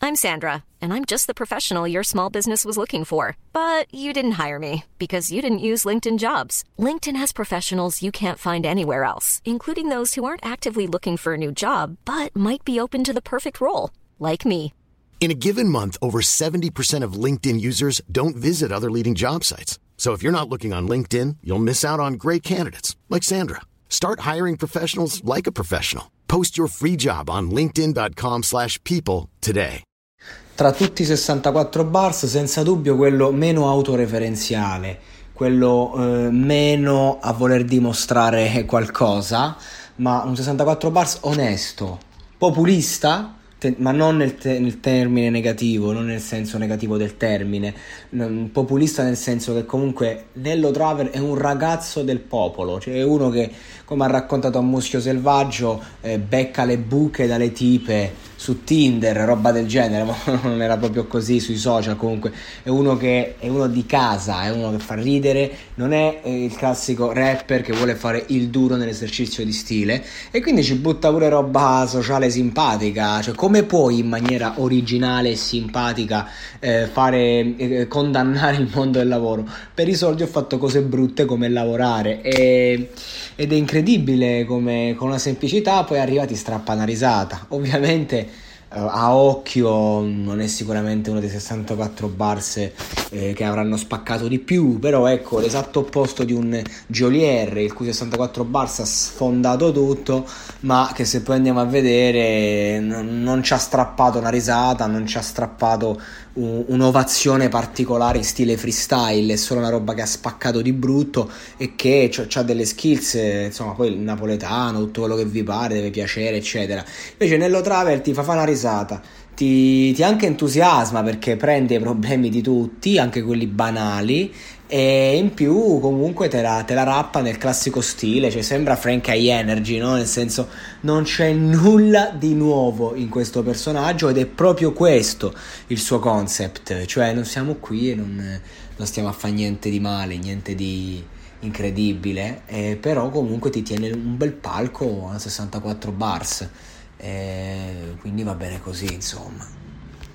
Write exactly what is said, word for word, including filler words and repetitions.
I'm Sandra, and I'm just the professional your small business was looking for. But you didn't hire me because you didn't use LinkedIn Jobs. LinkedIn has professionals you can't find anywhere else, including those who aren't actively looking for a new job, but might be open to the perfect role, like me. In a given month, over seventy percent of LinkedIn users don't visit other leading job sites. So if you're not looking on LinkedIn, you'll miss out on great candidates like Sandra. Start hiring professionals like a professional. Post your free job on linkedin.com slash people today. Tra tutti i sessantaquattro bars, senza dubbio quello meno autoreferenziale, quello eh, meno a voler dimostrare qualcosa, ma un sessantaquattro bars onesto, populista, te- ma non nel, te- nel termine negativo, non nel senso negativo del termine, n- populista nel senso che comunque Nello Traver è un ragazzo del popolo, cioè è uno che, come ha raccontato a Muschio Selvaggio, eh, becca le buche dalle tipe su Tinder, roba del genere, ma non era proprio così sui social. Comunque è uno che è uno di casa, è uno che fa ridere, non è eh, il classico rapper che vuole fare il duro nell'esercizio di stile, e quindi ci butta pure roba sociale simpatica. Cioè, come puoi in maniera originale e simpatica eh, fare eh, condannare il mondo del lavoro? Per i soldi ho fatto cose brutte come lavorare, e, ed è incredibile come con una semplicità poi arriva, ti strappa una risata. Ovviamente a occhio non è sicuramente uno dei sessantaquattro bars eh, che avranno spaccato di più, però ecco, l'esatto opposto di un Geolier, il cui sessantaquattro bars ha sfondato tutto, ma che se poi andiamo a vedere non, non ci ha strappato una risata, non ci ha strappato un, un'ovazione particolare in stile freestyle. È solo una roba che ha spaccato di brutto e che ha delle skills, eh, insomma, poi il napoletano, tutto quello che vi pare, deve piacere eccetera. Invece Nello Traver ti fa fare una risata, Ti, ti anche entusiasma perché prende i problemi di tutti, anche quelli banali, e in più comunque te la, te la rappa nel classico stile, cioè sembra Frank High Energy, no? Nel senso, non c'è nulla di nuovo in questo personaggio, ed è proprio questo il suo concept, cioè non siamo qui e non, non stiamo a fare niente di male, niente di incredibile, eh, però comunque ti tiene un bel palco a sessantaquattro bars. Eh, quindi va bene così, insomma.